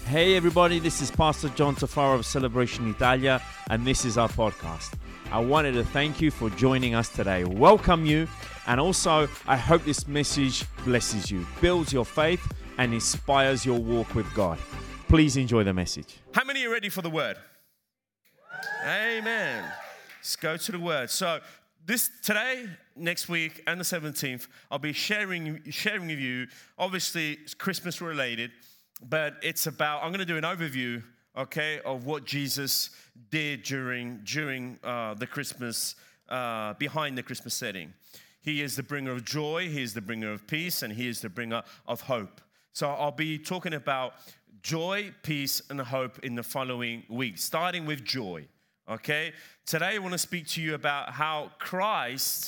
Hey everybody, this is Pastor John Tafaro of Celebration Italia, and this is our podcast. I wanted to thank you for joining us today, welcome you, and also I hope this message blesses you, builds your faith, and inspires your walk with God. Please enjoy the message. How many are ready for the word? Amen. Let's go to the word. So today, next week, and the 17th, I'll be sharing with you. Obviously, it's Christmas related, but it's about. I'm going to do an overview, okay, of what Jesus did during the Christmas, behind the Christmas setting. He is the bringer of joy. He is the bringer of peace, and He is the bringer of hope. So I'll be talking about joy, peace, and hope in the following week, starting with joy. Okay, today I want to speak to you about how Christ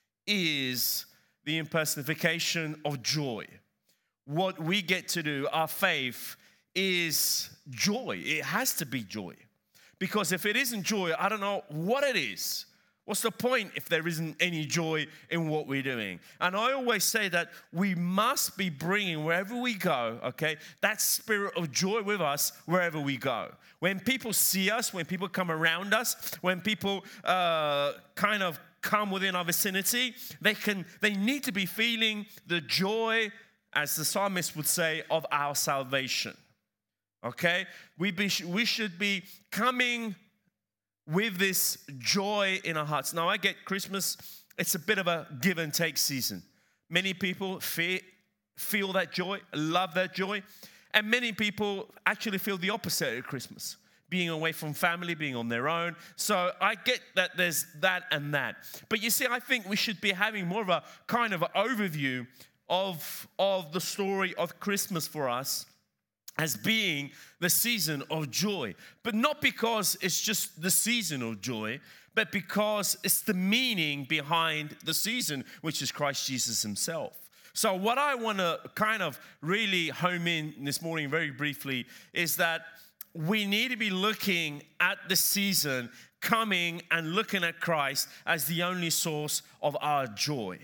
is the impersonification of joy. What we get to do, our faith, is joy. It has to be joy. Because if it isn't joy, I don't know what it is. What's the point if there isn't any joy in what we're doing? And I always say that we must be bringing wherever we go, okay, that spirit of joy with us wherever we go. When people see us, when people come around us, when people kind of come within our vicinity, they need to be feeling the joy, as the psalmist would say, of our salvation. Okay? We should be coming with this joy in our hearts. Now, I get Christmas, it's a bit of a give and take season. Many people feel that joy, love that joy, and many people actually feel the opposite at Christmas, being away from family, being on their own. So I get that there's that and that. But you see, I think we should be having more of a kind of overview of the story of Christmas for us, as being the season of joy. But not because it's just the season of joy, but because it's the meaning behind the season, which is Christ Jesus himself. So what I want to kind of really home in this morning very briefly is that we need to be looking at the season, coming and looking at Christ as the only source of our joy.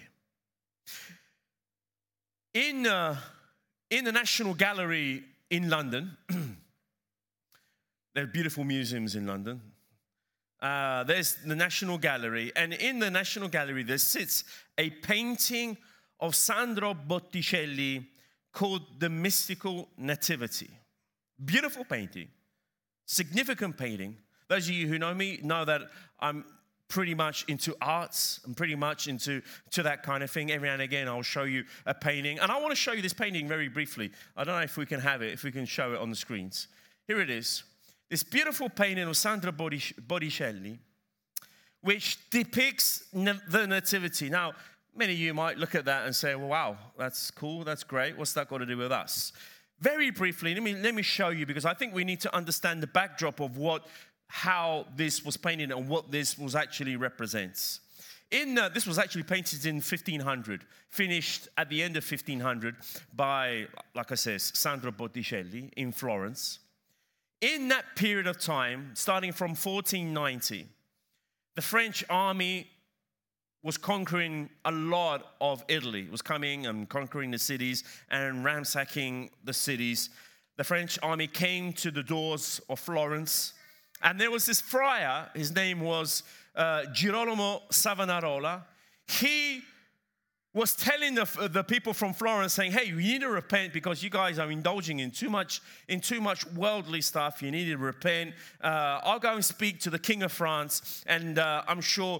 In the National Gallery in London, there are beautiful museums in London. There's the National Gallery, and in the National Gallery there sits a painting of Sandro Botticelli called The Mystical Nativity. Beautiful painting, significant painting. Those of you who know me know that I'm pretty much into arts. I'm pretty much into that kind of thing. Every now and again, I'll show you a painting. And I want to show you this painting very briefly. I don't know if we can have it, if we can show it on the screens. Here it is. This beautiful painting of Sandro Botticelli, which depicts the Nativity. Now, many of you might look at that and say, well, wow, that's cool, that's great. What's that got to do with us? Very briefly, let me show you, because I think we need to understand the backdrop of how this was painted and what this was actually represents. This was actually painted in 1500, finished at the end of 1500 by, like I said, Sandro Botticelli in Florence. In that period of time, starting from 1490, the French army was conquering a lot of Italy. It was coming and conquering the cities and ransacking the cities. The French army came to the doors of Florence. And there was this friar, his name was Girolamo Savonarola. He was telling the people from Florence, saying, hey, you need to repent because you guys are indulging in too much worldly stuff. You need to repent. I'll go and speak to the King of France, and I'm sure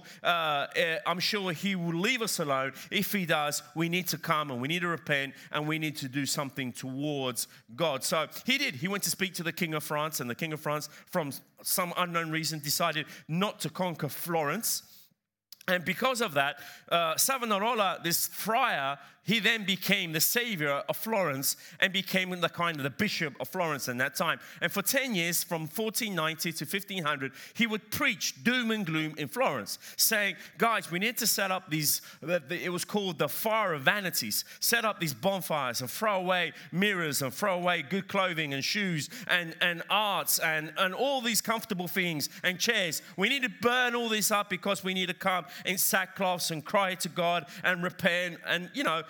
he will leave us alone. If he does, we need to come and we need to repent and we need to do something towards God. So he did. He went to speak to the King of France, and the King of France, from some unknown reason, decided not to conquer Florence. And because of that, Savonarola, this friar, he then became the savior of Florence and became the bishop of Florence in that time. And for 10 years, from 1490 to 1500, he would preach doom and gloom in Florence, saying, guys, we need to set up these, it was called the Fire of Vanities, set up these bonfires and throw away mirrors and throw away good clothing and shoes and arts and all these comfortable things and chairs. We need to burn all this up because we need to come in sackcloths and cry to God and repent and,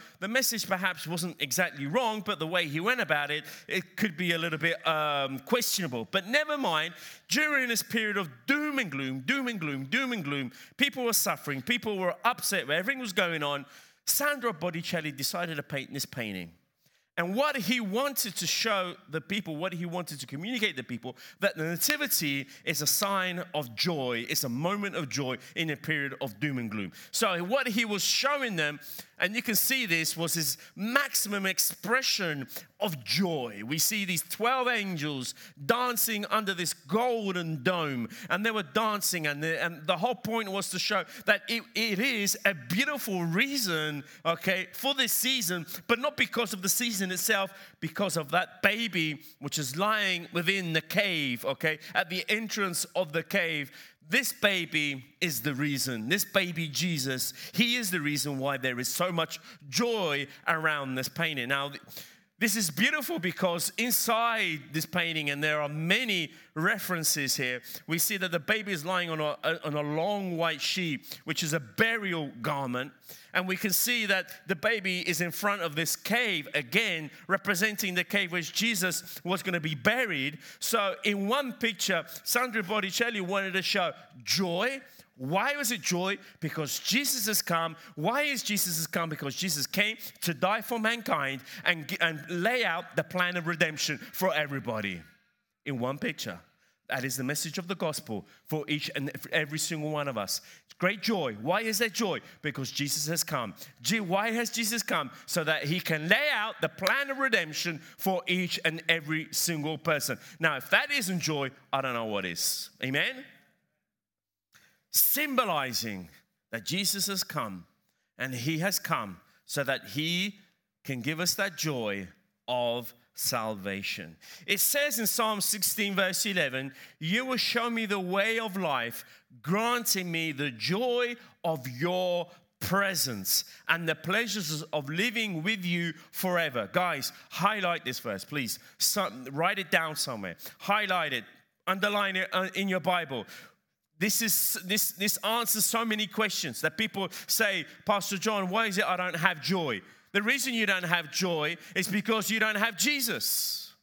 the message perhaps wasn't exactly wrong, but the way he went about it, it could be a little bit questionable. But never mind, during this period of doom and gloom, people were suffering, people were upset, everything was going on. Sandro Botticelli decided to paint this painting. And what he wanted to show the people, what he wanted to communicate to the people, that the nativity is a sign of joy. It's a moment of joy in a period of doom and gloom. So what he was showing them, and you can see this, was his maximum expression of joy. We see these 12 angels dancing under this golden dome, and they were dancing, and the whole point was to show that it is a beautiful reason, okay, for this season, but not because of the season itself, because of that baby which is lying within the cave, okay, at the entrance of the cave. This baby is the reason. This baby Jesus, he is the reason why there is so much joy around this painting. Now, this is beautiful because inside this painting, and there are many references here, we see that the baby is lying on a long white sheet, which is a burial garment. And we can see that the baby is in front of this cave, again, representing the cave which Jesus was going to be buried. So in one picture, Sandro Botticelli wanted to show joy. Why was it joy? Because Jesus has come. Why is Jesus come? Because Jesus came to die for mankind and lay out the plan of redemption for everybody in one picture. That is the message of the gospel for each and every single one of us. It's great joy. Why is there joy? Because Jesus has come. Why has Jesus come? So that he can lay out the plan of redemption for each and every single person. Now, if that isn't joy, I don't know what is. Amen? Symbolizing that Jesus has come, and he has come so that he can give us that joy of salvation. It says in Psalm 16 verse 11, you will show me the way of life, granting me the joy of your presence and the pleasures of living with you forever. Guys, highlight this verse, please. Write it down somewhere. Highlight it. Underline it in your Bible. This answers so many questions that people say, Pastor John, why is it I don't have joy? The reason you don't have joy is because you don't have Jesus.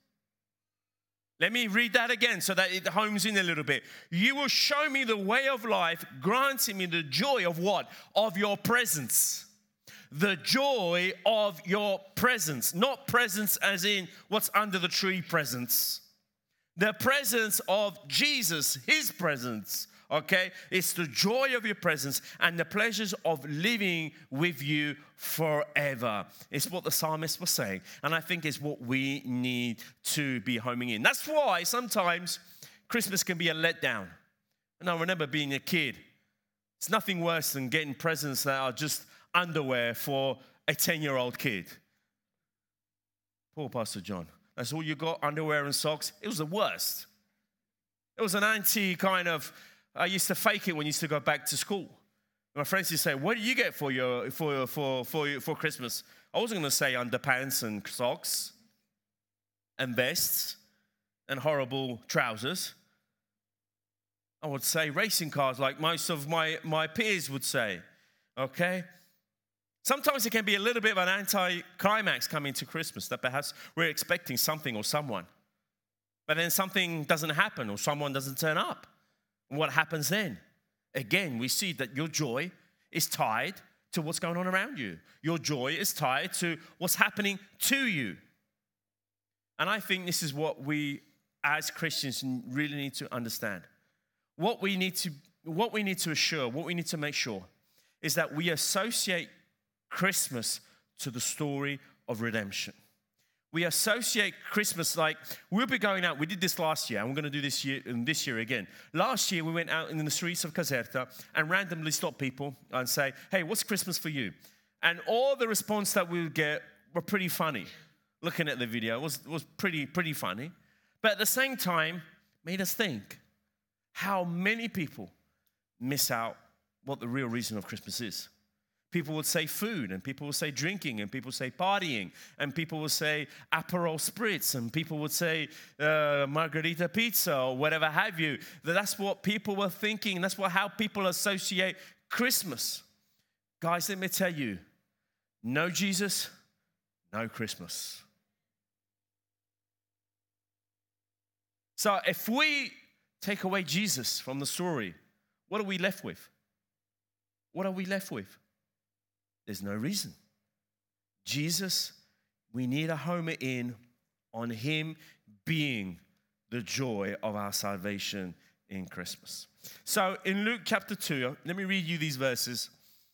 Let me read that again so that it homes in a little bit. You will show me the way of life, granting me the joy of what? Of your presence. The joy of your presence. Not presence as in what's under the tree presence. The presence of Jesus, his presence. Okay, it's the joy of your presence and the pleasures of living with you forever. It's what the psalmist was saying. And I think it's what we need to be homing in. That's why sometimes Christmas can be a letdown. And I remember being a kid. It's nothing worse than getting presents that are just underwear for a 10-year-old kid. Poor Pastor John. That's all you got, underwear and socks? It was the worst. It was an anti kind of... I used to fake it when I used to go back to school. My friends used to say, what do you get for Christmas? I wasn't going to say underpants and socks and vests and horrible trousers. I would say racing cars like most of my peers would say, okay? Sometimes it can be a little bit of an anti-climax coming to Christmas, that perhaps we're expecting something or someone. But then something doesn't happen or someone doesn't turn up. What happens then? Again, we see that your joy is tied to what's going on around you. Your joy is tied to what's happening to you. And I think this is what we as Christians really need to understand. What we need to assure, what we need to make sure is that we associate Christmas to the story of redemption. We associate Christmas like we'll be going out. We did this last year, and we're going to do this year again. Last year, we went out in the streets of Caserta and randomly stopped people and say, hey, what's Christmas for you? And all the response that we would get were pretty funny. Looking at the video, it was pretty funny. But at the same time, made us think how many people miss out what the real reason of Christmas is. People would say food, and people would say drinking, and people would say partying, and people would say Aperol Spritz, and people would say margarita pizza, or whatever have you. That's what people were thinking. That's how people associate Christmas. Guys, let me tell you, No Jesus, no Christmas. So if we take away Jesus from the story, what are we left with? What are we left with? There's no reason. Jesus, we need to home it in on him being the joy of our salvation in Christmas. So in Luke chapter 2, let me read you these verses.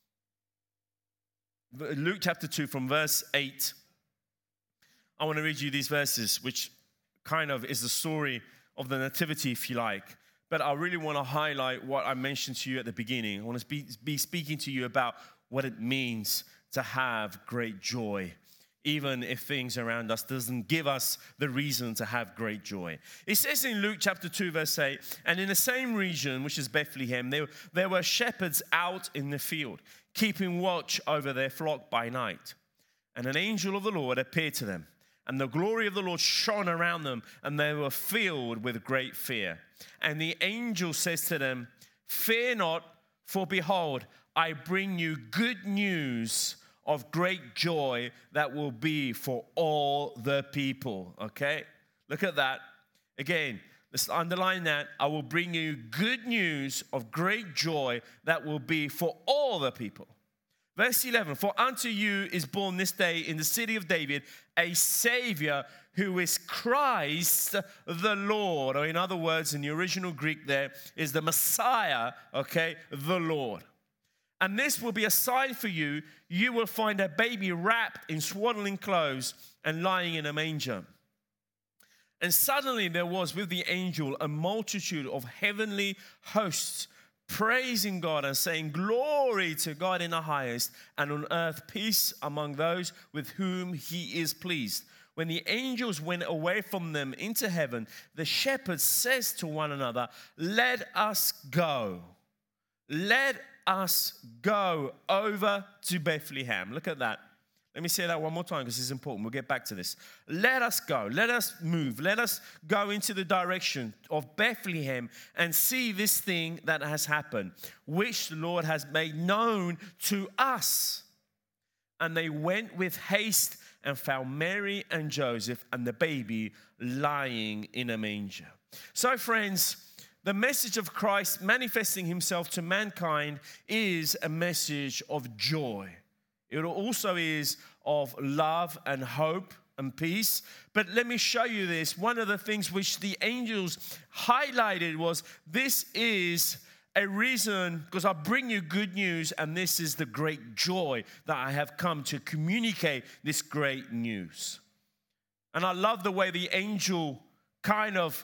Luke chapter 2 from verse 8. I want to read you these verses, which kind of is the story of the nativity, if you like. But I really want to highlight what I mentioned to you at the beginning. I want to be speaking to you about what it means to have great joy, even if things around us doesn't give us the reason to have great joy. It says in Luke chapter 2, verse 8, and in the same region, which is Bethlehem, there were shepherds out in the field, keeping watch over their flock by night. And an angel of the Lord appeared to them, and the glory of the Lord shone around them, and they were filled with great fear. And the angel says to them, fear not, for behold, I bring you good news of great joy that will be for all the people. Okay? Look at that. Again, let's underline that. I will bring you good news of great joy that will be for all the people. Verse 11, for unto you is born this day in the city of David a Savior who is Christ the Lord. Or in other words, in the original Greek there is the Messiah, okay, the Lord. And this will be a sign for you. You will find a baby wrapped in swaddling clothes and lying in a manger. And suddenly there was with the angel a multitude of heavenly hosts praising God and saying, glory to God in the highest, and on earth peace among those with whom he is pleased. When the angels went away from them into heaven, the shepherds says to one another, let us go over to Bethlehem. Look at that. Let me say that one more time because it's important. We'll get back to this. Let us go. Let us move. Let us go into the direction of Bethlehem and see this thing that has happened, which the Lord has made known to us. And they went with haste and found Mary and Joseph and the baby lying in a manger. So, friends, the message of Christ manifesting himself to mankind is a message of joy. It also is of love and hope and peace. But let me show you this. One of the things which the angels highlighted was this is a reason, because I bring you good news, and this is the great joy that I have come to communicate this great news. And I love the way the angel kind of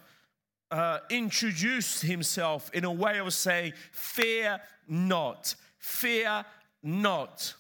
introduced himself in a way of saying, fear not, fear not.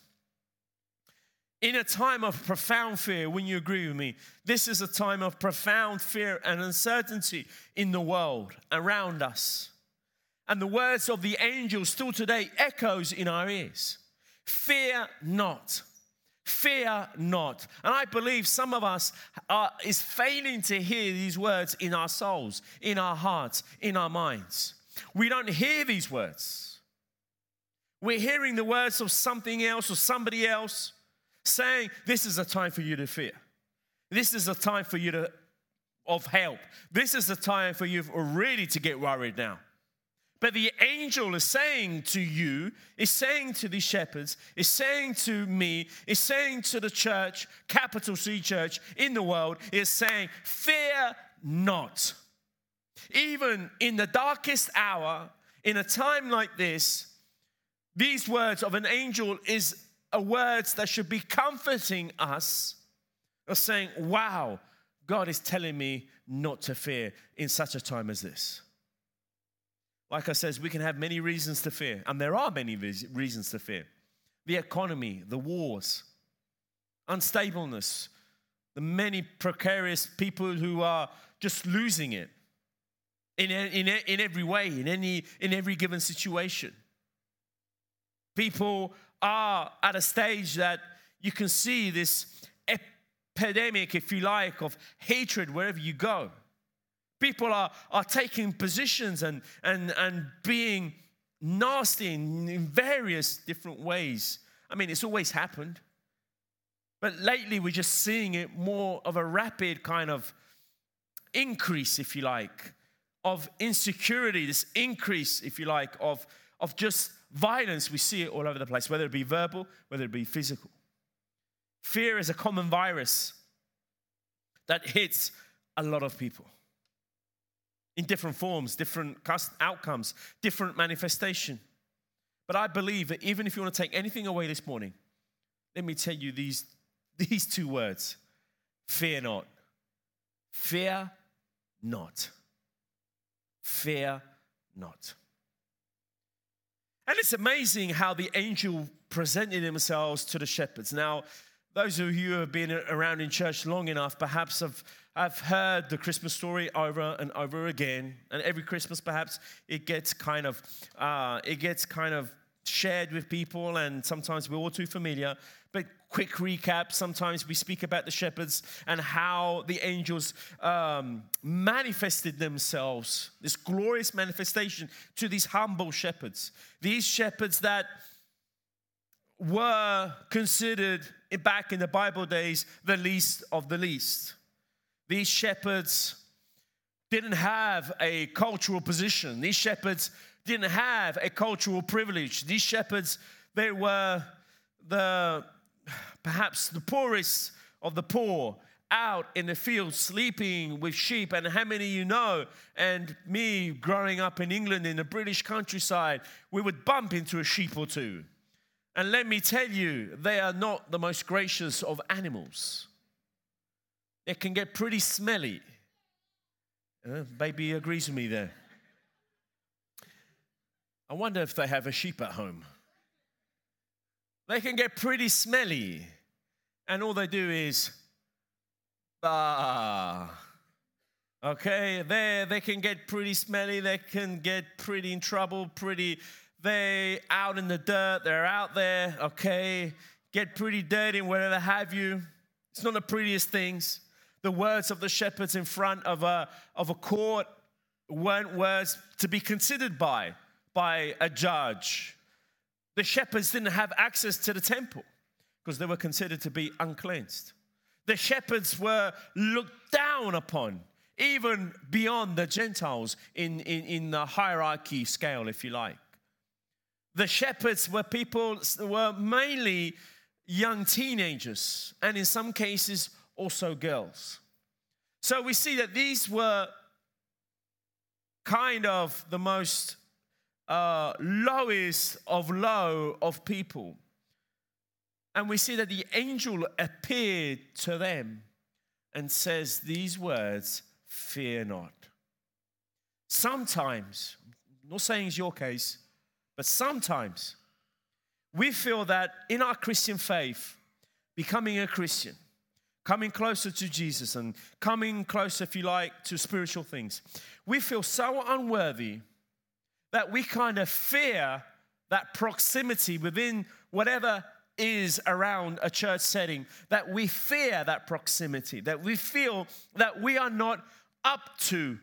In a time of profound fear, when you agree with me, this is a time of profound fear and uncertainty in the world around us. And the words of the angel still today echoes in our ears. Fear not. Fear not. And I believe some of us is failing to hear these words in our souls, in our hearts, in our minds. We don't hear these words. We're hearing the words of something else or somebody else saying, this is a time for you to fear. This is a time for you of help. This is a time for you really to get worried now. But the angel is saying to you, is saying to the shepherds, is saying to me, is saying to the church, capital C church in the world, is saying, fear not. Even in the darkest hour, in a time like this, these words of an angel is words that should be comforting us, of saying, wow, God is telling me not to fear in such a time as this. Like I said, we can have many reasons to fear, and there are many reasons to fear. The economy, the wars, unstableness, the many precarious people who are just losing it in every way, in every given situation. People are at a stage that you can see this epidemic, if you like, of hatred wherever you go. People are taking positions and being nasty in various different ways. I mean, it's always happened. But lately, we're just seeing it more of a rapid kind of increase, if you like, of insecurity, this increase, if you like, of just violence. We see it all over the place, whether it be verbal, whether it be physical. Fear is a common virus that hits a lot of people in different forms, different outcomes, different manifestation. But I believe that even if you want to take anything away this morning, let me tell you these two words: fear not. Fear not. Fear not. And it's amazing how the angel presented themselves to the shepherds. Now, those of you who have been around in church long enough perhaps have heard the Christmas story over and over again. And every Christmas, perhaps, it gets kind of shared with people, and sometimes we're all too familiar. But quick recap, sometimes we speak about the shepherds and how the angels manifested themselves, this glorious manifestation to these humble shepherds. These shepherds that were considered, back in the Bible days, the least of the least. These shepherds didn't have a cultural position. These shepherds didn't have a cultural privilege. These shepherds, they were perhaps the poorest of the poor, out in the field sleeping with sheep. And how many of you know, and me growing up in England in the British countryside, we would bump into a sheep or two. And let me tell you, they are not the most gracious of animals. They can get pretty smelly. Baby agrees with me there. I wonder if they have a sheep at home. They can get pretty smelly. And all they do is, bah. Okay, they can get pretty smelly. They can get pretty in trouble, they out in the dirt. They're out there, okay, get pretty dirty and whatever have you. It's not the prettiest things. The words of the shepherds in front of a court weren't words to be considered by a judge. The shepherds didn't have access to the temple because they were considered to be uncleansed. The shepherds were looked down upon, even beyond the Gentiles in the hierarchy scale, if you like. The shepherds were mainly young teenagers, and in some cases also girls. So we see that these were kind of the most lowest of low of people. And we see that the angel appeared to them and says these words, fear not. Sometimes, I'm not saying it's your case, but sometimes we feel that in our Christian faith, becoming a Christian, coming closer to Jesus and coming closer, if you like, to spiritual things, we feel so unworthy that we kind of fear that proximity within whatever is around a church setting, that we fear that proximity, that we feel that we are not up to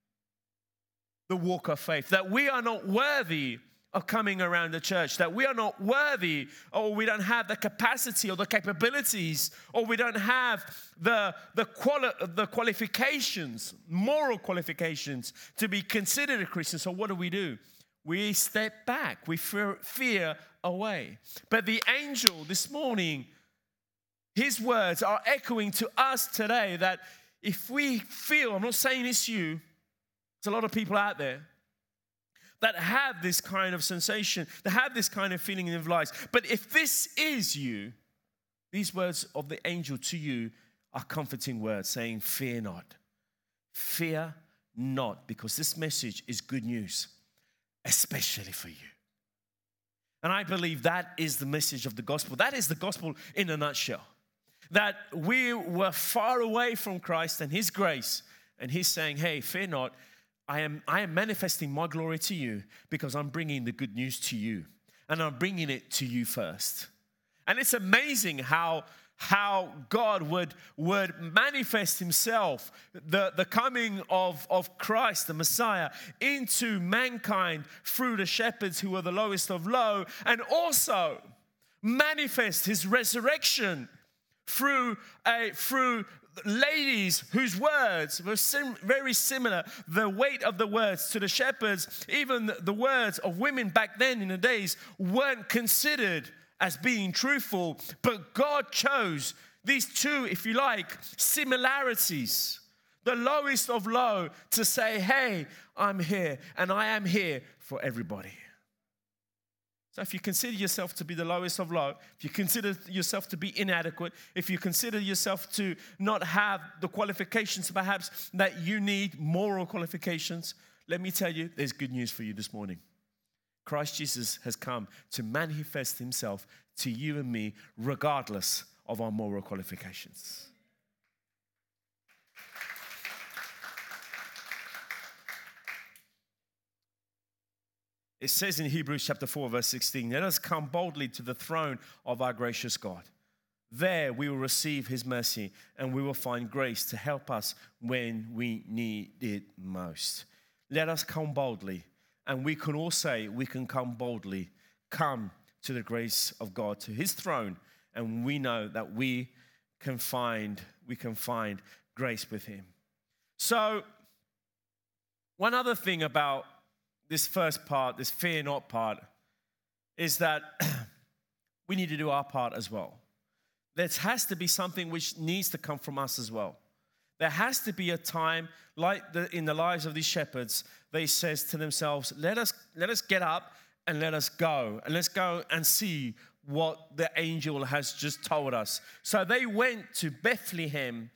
the walk of faith, that we are not worthy of coming around the church, that we are not worthy, or we don't have the capacity or the capabilities, or we don't have the qualifications, moral qualifications to be considered a Christian. So what do? We step back. We fear away. But the angel this morning, his words are echoing to us today that if we feel, I'm not saying it's you, there's a lot of people out there that have this kind of sensation, that have this kind of feeling in their lives. But if this is you, these words of the angel to you are comforting words saying, fear not. Fear not, because this message is good news, especially for you. And I believe that is the message of the gospel. That is the gospel in a nutshell. That we were far away from Christ and his grace, and he's saying, hey, fear not. I am manifesting my glory to you because I'm bringing the good news to you. And I'm bringing it to you first. And it's amazing how God would manifest himself, the coming of Christ, the Messiah, into mankind through the shepherds who were the lowest of low, and also manifest his resurrection through ladies whose words were very similar, the weight of the words to the shepherds. Even the words of women back then in the days weren't considered as being truthful, but God chose these two, if you like, similarities, the lowest of low, to say, hey, I'm here, and I am here for everybody. So if you consider yourself to be the lowest of low, if you consider yourself to be inadequate, if you consider yourself to not have the qualifications perhaps that you need, moral qualifications, let me tell you, there's good news for you this morning. Christ Jesus has come to manifest himself to you and me regardless of our moral qualifications. It says in Hebrews chapter 4, verse 16, let us come boldly to the throne of our gracious God. There we will receive his mercy and we will find grace to help us when we need it most. Let us come boldly. And we can all say, we can come boldly, come to the grace of God, to his throne. And we know that we can find grace with him. So, one other thing about this first part, this fear not part, is that we need to do our part as well. There has to be something which needs to come from us as well. There has to be a time, like in the lives of these shepherds, they says to themselves, let us get up and let us go. And let's go and see what the angel has just told us. So they went to Bethlehem.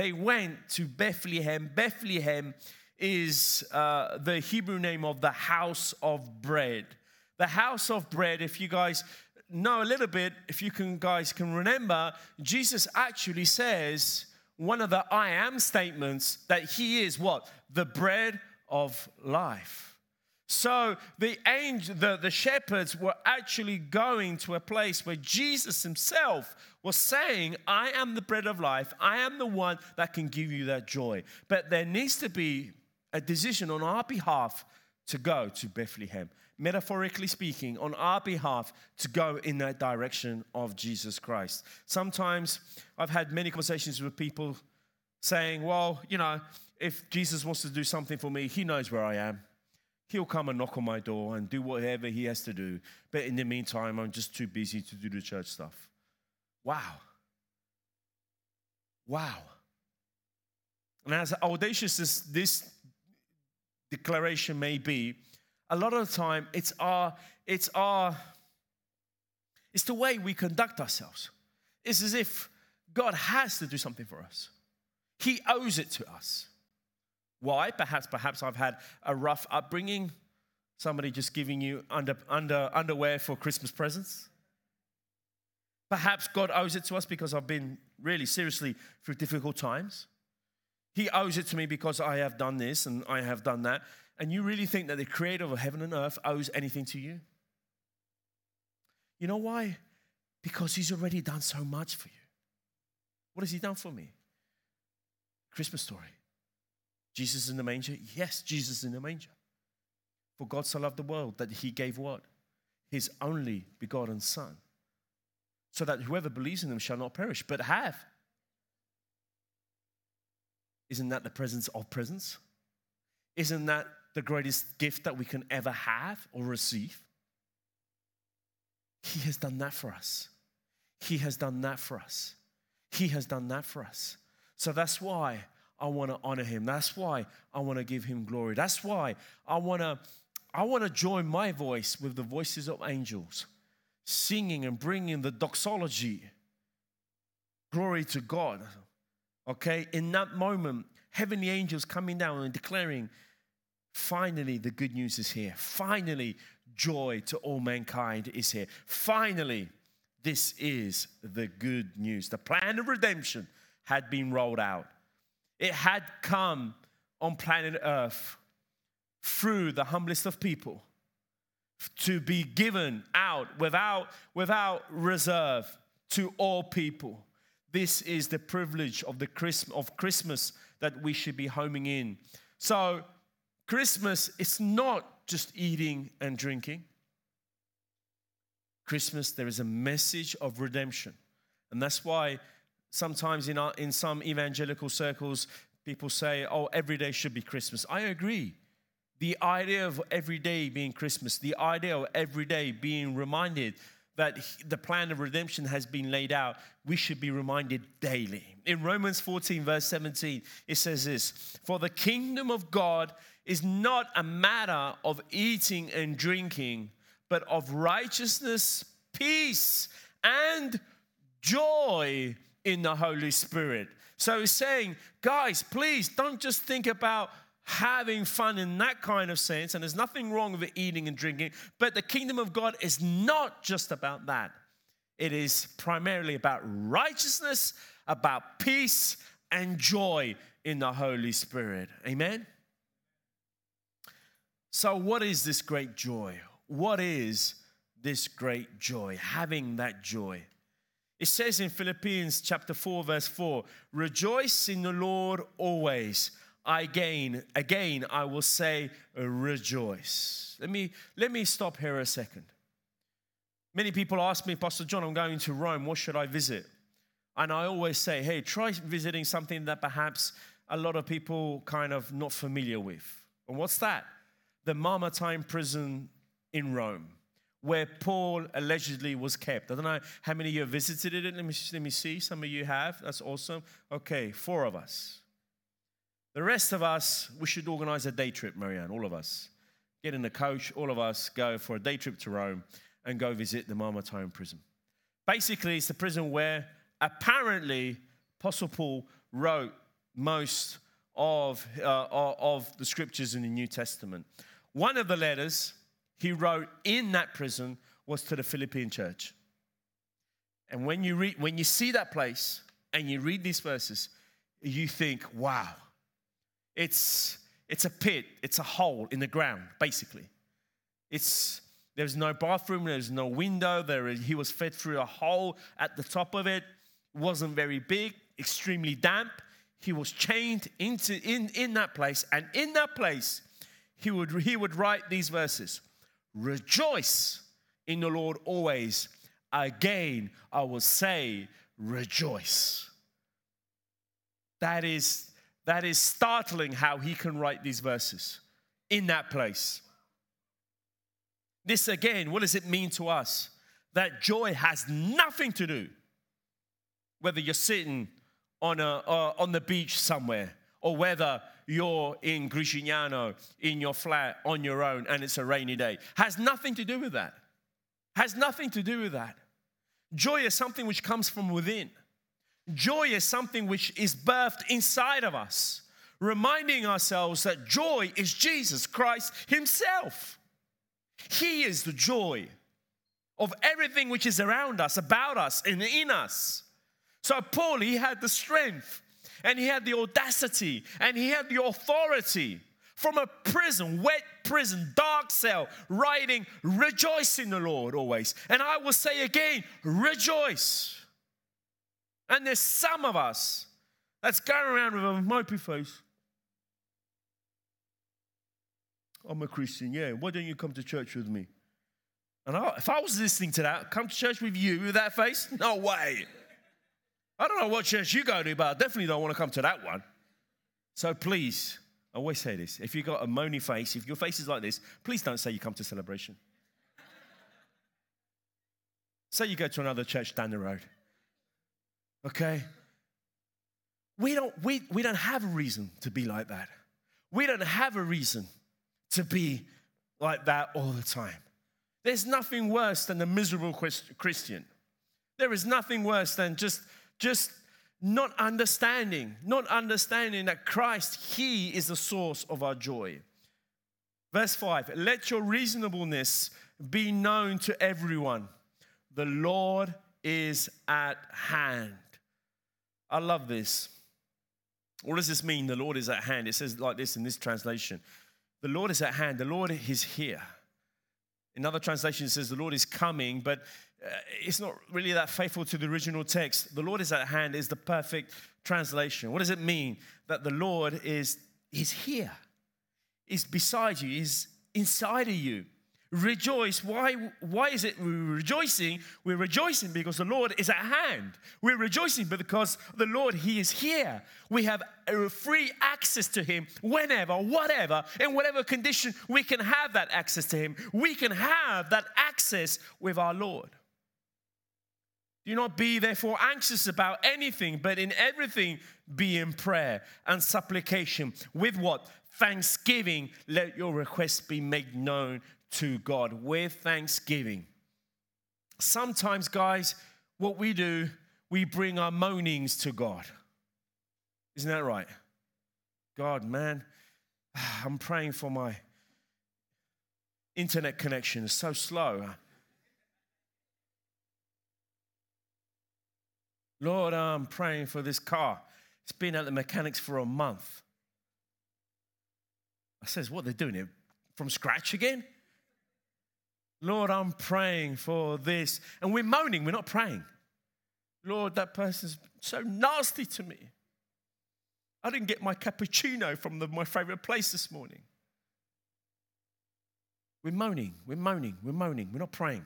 Bethlehem is the Hebrew name of the house of bread. The house of bread, if you guys know a little bit, if you guys can remember, Jesus actually says one of the I am statements that he is what? The bread of life. So the shepherds were actually going to a place where Jesus himself was saying, I am the bread of life. I am the one that can give you that joy. But there needs to be a decision on our behalf to go to Bethlehem. Metaphorically speaking, on our behalf to go in that direction of Jesus Christ. Sometimes I've had many conversations with people saying, well, if Jesus wants to do something for me, he knows where I am. He'll come and knock on my door and do whatever he has to do. But in the meantime, I'm just too busy to do the church stuff. Wow. And as audacious as this declaration may be, a lot of the time it's the way we conduct ourselves. It's as if God has to do something for us. He owes it to us. Why? Perhaps I've had a rough upbringing. Somebody just giving you underwear for Christmas presents. Perhaps God owes it to us because I've been really seriously through difficult times. He owes it to me because I have done this and I have done that. And you really think that the creator of heaven and earth owes anything to you? You know why? Because he's already done so much for you. What has he done for me? Christmas story. Jesus in the manger? Yes, Jesus in the manger. For God so loved the world that he gave what? His only begotten Son. So that whoever believes in him shall not perish, but have. Isn't that the presence of presents? Isn't that the greatest gift that we can ever have or receive? He has done that for us. He has done that for us. He has done that for us. So that's why I want to honor him. That's why I want to give him glory. That's why I want to join my voice with the voices of angels, singing and bringing the doxology. Glory to God. Okay, in that moment, heavenly angels coming down and declaring, finally the good news is here. Finally, joy to all mankind is here. Finally, this is the good news. The plan of redemption had been rolled out. It had come on planet Earth through the humblest of people to be given out without reserve to all people. This is the privilege of Christmas that we should be homing in. So Christmas is not just eating and drinking. Christmas, there is a message of redemption. And that's why sometimes in some evangelical circles, people say, oh, every day should be Christmas. I agree. The idea of every day being Christmas, the idea of every day being reminded that the plan of redemption has been laid out, we should be reminded daily. In Romans 14, verse 17, it says this, "For the kingdom of God is not a matter of eating and drinking, but of righteousness, peace, and joy in the Holy Spirit." So he's saying, guys, please don't just think about having fun in that kind of sense, and there's nothing wrong with eating and drinking, but the kingdom of God is not just about that. It is primarily about righteousness, about peace, and joy in the Holy Spirit. Amen? So what is this great joy? What is this great joy? Having that joy. It says in Philippians chapter 4, verse 4, "Rejoice in the Lord always. Again, I will say, rejoice." Let me stop here a second. Many people ask me, "Pastor John, I'm going to Rome. What should I visit?" And I always say, hey, try visiting something that perhaps a lot of people kind of not familiar with. And what's that? The Mamertine prison in Rome, where Paul allegedly was kept. I don't know how many of you have visited it. Let me see. Some of you have. That's awesome. Okay, 4 of us. The rest of us, we should organize a day trip, Marianne, all of us. Get in a coach, all of us go for a day trip to Rome and go visit the Mamertine prison. Basically, it's the prison where apparently Apostle Paul wrote most of the scriptures in the New Testament. One of the letters he wrote in that prison was to the Philippian church. And when you see that place and you read these verses, you think, wow. It's a pit. It's a hole in the ground, basically. There's no bathroom. There's no window. He was fed through a hole at the top of it. It wasn't very big, extremely damp. He was chained in that place. And in that place, he would write these verses. "Rejoice in the Lord always. Again, I will say, rejoice." That is startling how he can write these verses in that place. This again, what does it mean to us? That joy has nothing to do whether you're sitting on the beach somewhere or whether you're in Gricignano in your flat on your own and it's a rainy day. Has nothing to do with that. Has nothing to do with that. Joy is something which comes from within. Joy is something which is birthed inside of us, reminding ourselves that joy is Jesus Christ himself. He is the joy of everything which is around us, about us, and in us. So Paul, he had the strength, and he had the audacity, and he had the authority from a prison, wet prison, dark cell, writing, "Rejoice in the Lord always." And I will say again, rejoice. And there's some of us that's going around with a mopey face. "I'm a Christian, yeah. Why don't you come to church with me?" And if I was listening to that, come to church with you with that face? No way. I don't know what church you go to, but I definitely don't want to come to that one. So please, I always say this. If you've got a moany face, if your face is like this, please don't say you come to celebration. Say you go to another church down the road. Okay? We don't have a reason to be like that. We don't have a reason to be like that all the time. There's nothing worse than a miserable Christian. There is nothing worse than just not understanding that Christ, he is the source of our joy. Verse 5, "Let your reasonableness be known to everyone. The Lord is at hand." I love this. What does this mean, the Lord is at hand? It says like this in this translation. The Lord is at hand. The Lord is here. In other translations, it says the Lord is coming, but it's not really that faithful to the original text. The Lord is at hand is the perfect translation. What does it mean? That the Lord is here. He's beside you. He's inside of you. Rejoice. Why is it we're rejoicing? We're rejoicing because the Lord is at hand. We're rejoicing because the Lord, He is here. We have free access to Him whenever, whatever, in whatever condition, we can have that access to Him. We can have that access with our Lord. Do not be therefore anxious about anything, but in everything be in prayer and supplication. With what? Thanksgiving, let your requests be made known to God. With thanksgiving. Sometimes, guys, what we do, we bring our moanings to God. Isn't that right? God, man, I'm praying for my internet connection. It's so slow. Lord, I'm praying for this car. It's been at the mechanics for a month. I says, what, they're doing it from scratch again? Lord, I'm praying for this. And we're moaning, we're not praying. Lord, that person's so nasty to me. I didn't get my cappuccino from my favorite place this morning. We're moaning, we're moaning, we're moaning. We're not praying.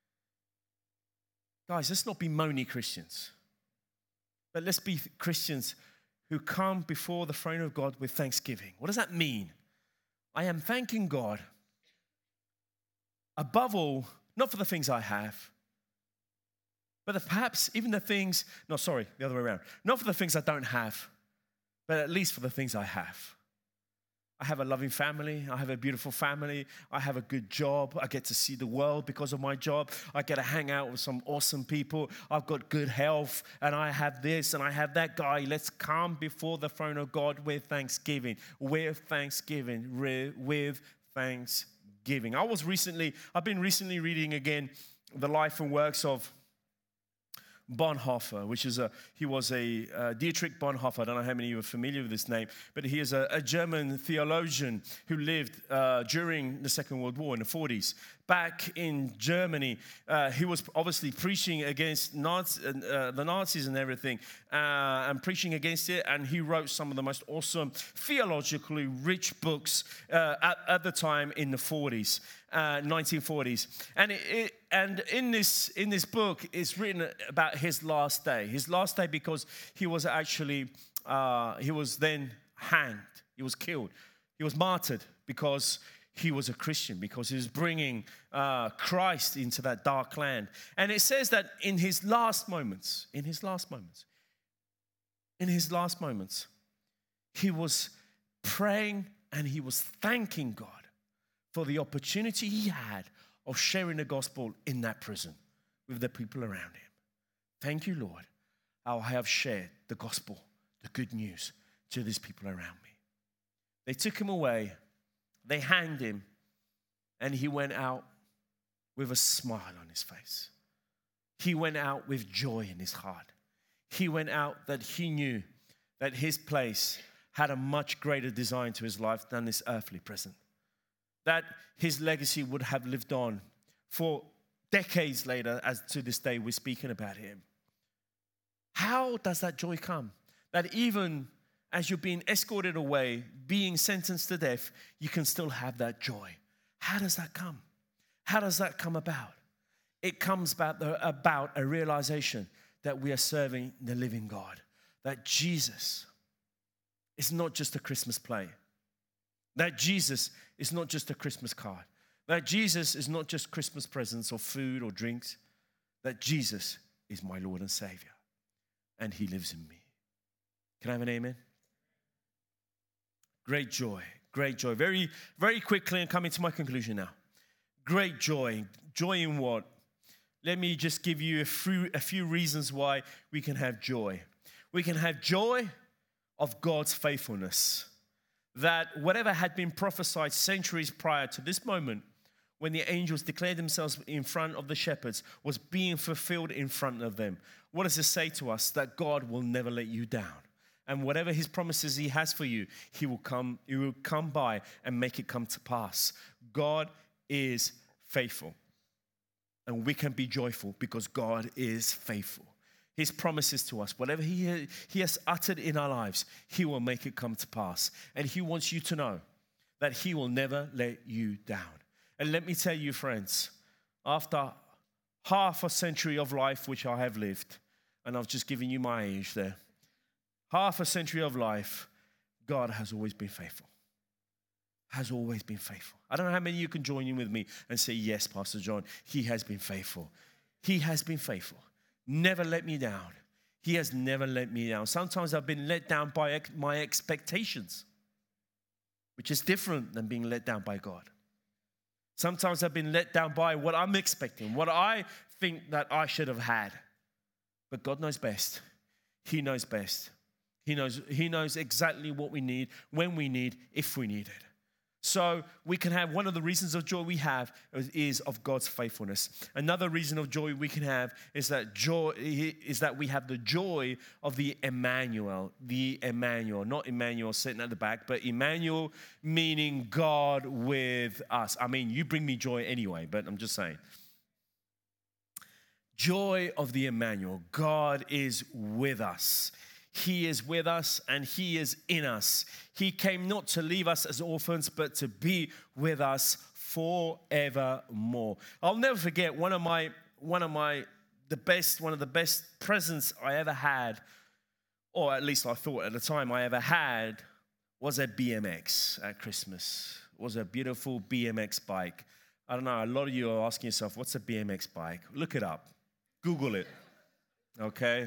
Guys, let's not be moany Christians. But let's be Christians who come before the throne of God with thanksgiving. What does that mean? I am thanking God above all, not for the things I have, but perhaps even the things, the other way around. Not for the things I don't have, but at least for the things I have. I have a loving family. I have a beautiful family. I have a good job. I get to see the world because of my job. I get to hang out with some awesome people. I've got good health, and I have this, and I have that. Guy, let's come before the throne of God with thanksgiving. With thanksgiving. With thanksgiving. I've been recently reading again the life and works of Bonhoeffer, he was a Dietrich Bonhoeffer. I don't know how many of you are familiar with this name, but he is a German theologian who lived during the Second World War in the 40s. Back in Germany, he was obviously preaching against the Nazis and everything, and preaching against it, and he wrote some of the most awesome, theologically rich books at the time in the 40s. 1940s, and in this book, it's written about his last day. His last day because he was actually he was then hanged. He was killed. He was martyred because he was a Christian, because he was bringing Christ into that dark land. And it says that in his last moments, he was praying and he was thanking God for the opportunity he had of sharing the gospel in that prison with the people around him. Thank you, Lord, how I have shared the gospel, the good news, to these people around me. They took him away, they hanged him, and he went out with a smile on his face. He went out with joy in his heart. He went out that he knew that his place had a much greater design to his life than this earthly prison. That his legacy would have lived on for decades later, as to this day we're speaking about him. How does that joy come? That even as you're being escorted away, being sentenced to death, you can still have that joy. How does that come? How does that come about? It comes about a realization that we are serving the living God. That Jesus is not just a Christmas play. That Jesus is not just a Christmas card. That Jesus is not just Christmas presents or food or drinks. That Jesus is my Lord and Savior. And He lives in me. Can I have an amen? Great joy. Great joy. Very, very quickly, and coming to my conclusion now. Great joy. Joy in what? Let me just give you a few reasons why we can have joy. We can have joy of God's faithfulness. That whatever had been prophesied centuries prior to this moment, when the angels declared themselves in front of the shepherds, was being fulfilled in front of them. What does this say to us? That God will never let you down. And whatever His promises He has for you, He will come by and make it come to pass. God is faithful. And we can be joyful because God is faithful. His promises to us, whatever he has uttered in our lives, He will make it come to pass. And He wants you to know that He will never let you down. And let me tell you, friends, after half a century of life, which I have lived, and I've just given you my age there, half a century of life, God has always been faithful. Has always been faithful. I don't know how many of you can join in with me and say, yes, Pastor John, he has been faithful. He has been faithful. Never let me down. He has never let me down. Sometimes I've been let down by my expectations, which is different than being let down by God. Sometimes I've been let down by what I'm expecting, what I think that I should have had. But God knows best. He knows best. He knows exactly what we need, when we need, if we need it. So we can have, one of the reasons of joy we have is of God's faithfulness. Another reason of joy we can have is that we have the joy of the Emmanuel, not Emmanuel sitting at the back, but Emmanuel meaning God with us. I mean, you bring me joy anyway, but I'm just saying. Joy of the Emmanuel. God is with us. He is with us and He is in us. He came not to leave us as orphans, but to be with us forevermore. I'll never forget one of the best presents I ever had, or at least I thought at the time I ever had, was a BMX at Christmas. It was a beautiful BMX bike. I don't know, a lot of you are asking yourself, what's a BMX bike? Look it up. Google it. Okay?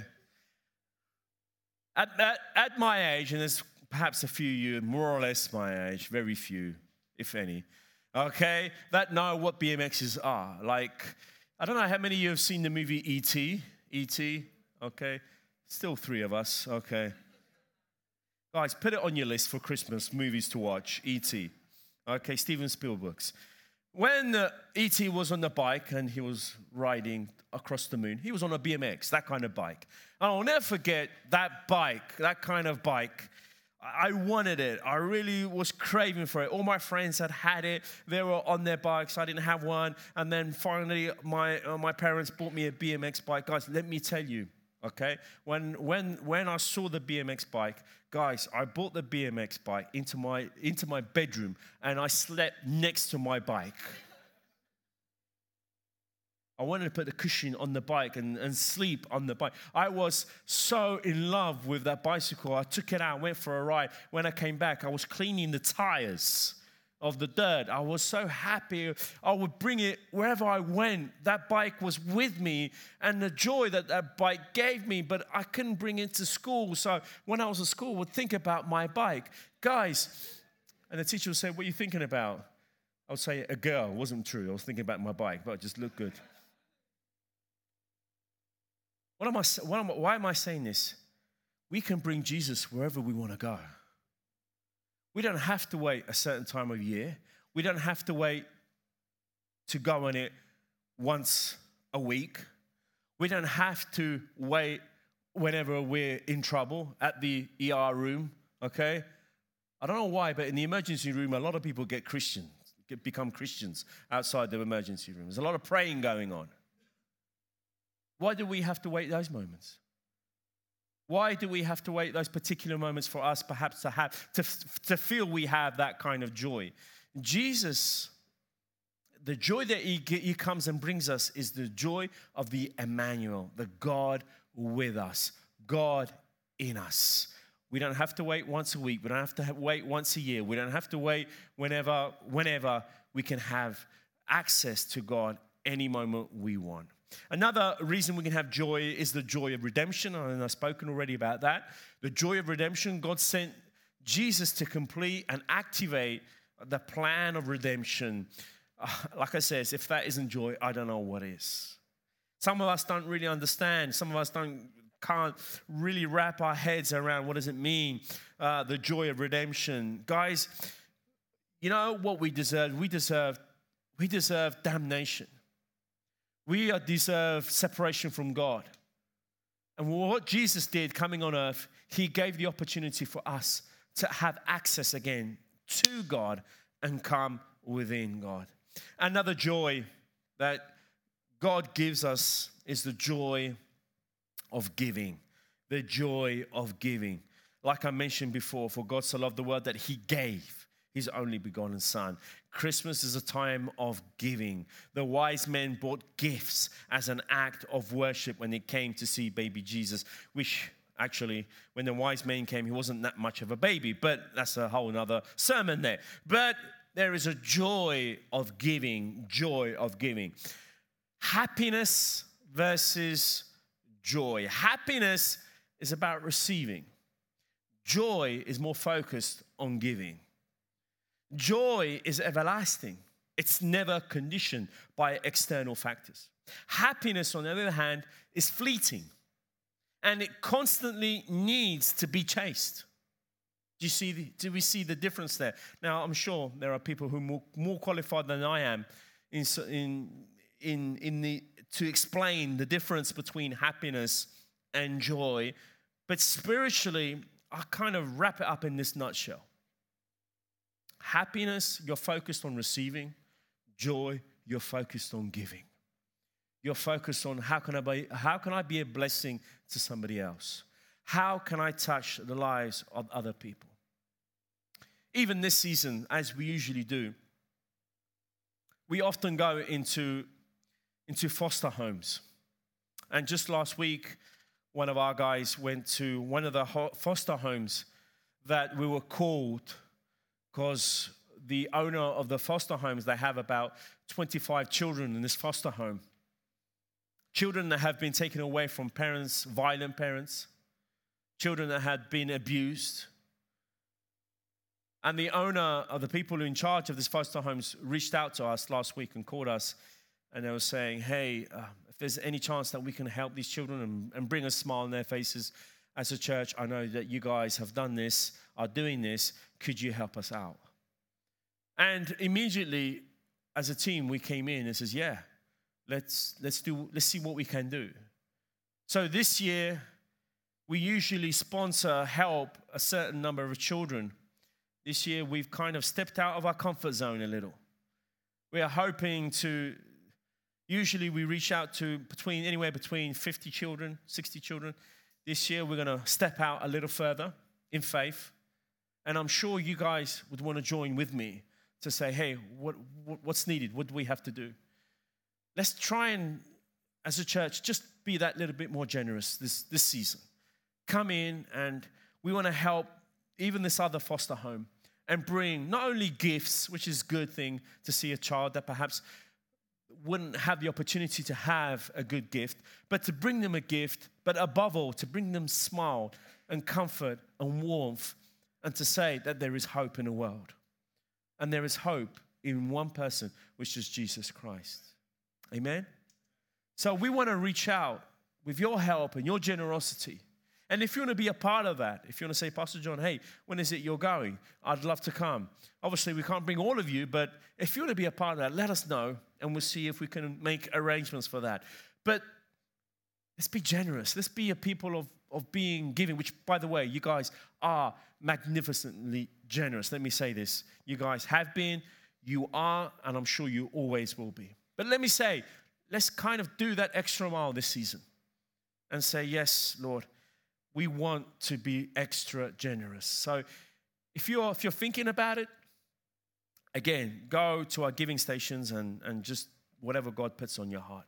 At my age, and there's perhaps a few of you more or less my age, very few, if any, okay, that know what BMXs are. Like, I don't know how many of you have seen the movie E.T. E.T., okay? Still 3 of us, okay. Guys, put it on your list for Christmas movies to watch, E.T., okay, Steven Spielberg's. When E.T. was on the bike and he was riding across the moon, he was on a BMX, that kind of bike. And I'll never forget that bike, that kind of bike. I wanted it. I really was craving for it. All my friends had it. They were on their bikes. I didn't have one. And then finally, my parents bought me a BMX bike. Guys, let me tell you, okay? When I saw the BMX bike, guys, I brought the BMX bike into my bedroom and I slept next to my bike. I wanted to put the cushion on the bike and sleep on the bike. I was so in love with that bicycle. I took it out, went for a ride. When I came back, I was cleaning the tires of the dirt. I was so happy. I would bring it wherever I went. That bike was with me and the joy that bike gave me, but I couldn't bring it to school. So when I was at school, I would think about my bike. Guys, and the teacher would say, what are you thinking about? I would say, a girl. It wasn't true. I was thinking about my bike, but it just looked good. Why am I saying this? We can bring Jesus wherever we want to go. We don't have to wait a certain time of year. We don't have to wait to go on it once a week. We don't have to wait whenever we're in trouble at the ER room, okay? I don't know why, but in the emergency room, a lot of people become Christians outside the emergency room. There's a lot of praying going on. Why do we have to wait those moments? Why do we have to wait those particular moments for us perhaps to feel we have that kind of joy? Jesus, the joy that he comes and brings us is the joy of the Emmanuel, the God with us, God in us. We don't have to wait once a week. We don't have to wait once a year. We don't have to wait whenever we can have access to God any moment we want. Another reason we can have joy is the joy of redemption, and I've spoken already about that. The joy of redemption, God sent Jesus to complete and activate the plan of redemption. Like I said, if that isn't joy, I don't know what is. Some of us don't really understand. Some of us can't really wrap our heads around what does it mean, the joy of redemption. Guys, you know what we deserve? We deserve damnation. We deserve separation from God. And what Jesus did coming on earth, he gave the opportunity for us to have access again to God and come within God. Another joy that God gives us is the joy of giving. The joy of giving. Like I mentioned before, for God so loved the world that he gave. his only begotten Son. Christmas is a time of giving. The wise men brought gifts as an act of worship when they came to see baby Jesus, which actually, when the wise men came, he wasn't that much of a baby, but that's a whole nother sermon there. But there is a joy of giving, joy of giving. Happiness versus joy. Happiness is about receiving. Joy is more focused on giving. Joy is everlasting. It's never conditioned by external factors. Happiness, on the other hand, is fleeting. And it constantly needs to be chased. Do we see the difference there? Now, I'm sure there are people who are more qualified than I am to explain the difference between happiness and joy. But spiritually, I kind of wrap it up in this nutshell. Happiness, you're focused on receiving. Joy, you're focused on giving. You're focused on how can I be a blessing to somebody else? How can I touch the lives of other people? Even this season, as we usually do, we often go into foster homes. And just last week, one of our guys went to one of the foster homes that we were called because the owner of the foster homes, they have about 25 children in this foster home. Children that have been taken away from parents, violent parents, children that had been abused. And the owner of the people in charge of this foster homes reached out to us last week and called us, and they were saying, hey, if there's any chance that we can help these children and bring a smile on their faces as a church, I know that you guys have done this, are doing this, could you help us out? And immediately, as a team, we came in and says, yeah, let's see what we can do. So this year, we usually help a certain number of children. This year, we've kind of stepped out of our comfort zone a little. We are hoping to, usually we reach out to anywhere between 50 children, 60 children. This year, we're going to step out a little further in faith. And I'm sure you guys would want to join with me to say, hey, what's needed? What do we have to do? Let's try and, as a church, just be that little bit more generous this season. Come in, and we want to help even this other foster home and bring not only gifts, which is a good thing to see a child that perhaps wouldn't have the opportunity to have a good gift, but to bring them a gift, but above all, to bring them smile and comfort and warmth, and to say that there is hope in the world. And there is hope in one person, which is Jesus Christ. Amen? So we want to reach out with your help and your generosity. And if you want to be a part of that, if you want to say, Pastor John, hey, when is it you're going? I'd love to come. Obviously, we can't bring all of you, but if you want to be a part of that, let us know, and we'll see if we can make arrangements for that. But let's be generous. Let's be a people of being giving, which, by the way, you guys are magnificently generous. Let me say this. You guys have been, you are, and I'm sure you always will be. But let me say, let's kind of do that extra mile this season and say, yes, Lord, we want to be extra generous. So if you're thinking about it, again, go to our giving stations and just whatever God puts on your heart.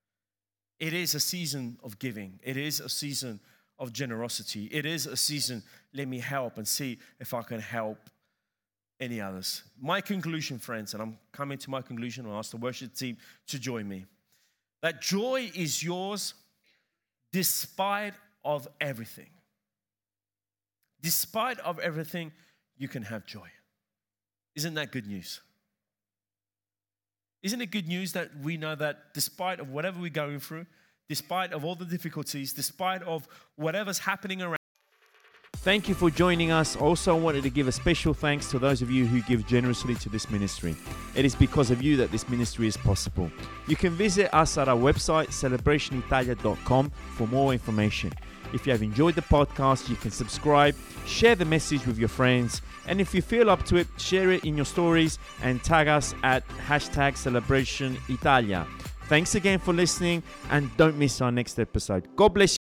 It is a season of giving. It is a season of generosity. It is a season, let me help and see if I can help any others. My conclusion, friends, and I'm coming to my conclusion, I'll ask the worship team to join me, that joy is yours despite of everything. Despite of everything, you can have joy. Isn't that good news? Isn't it good news that we know that despite of whatever we're going through, despite of all the difficulties, despite of whatever's happening around. Thank you for joining us. Also, I wanted to give a special thanks to those of you who give generously to this ministry. It is because of you that this ministry is possible. You can visit us at our website, celebrationitalia.com, for more information. If you have enjoyed the podcast, you can subscribe, share the message with your friends, and if you feel up to it, share it in your stories and tag us at #CelebrationItalia. Thanks again for listening, and don't miss our next episode. God bless you.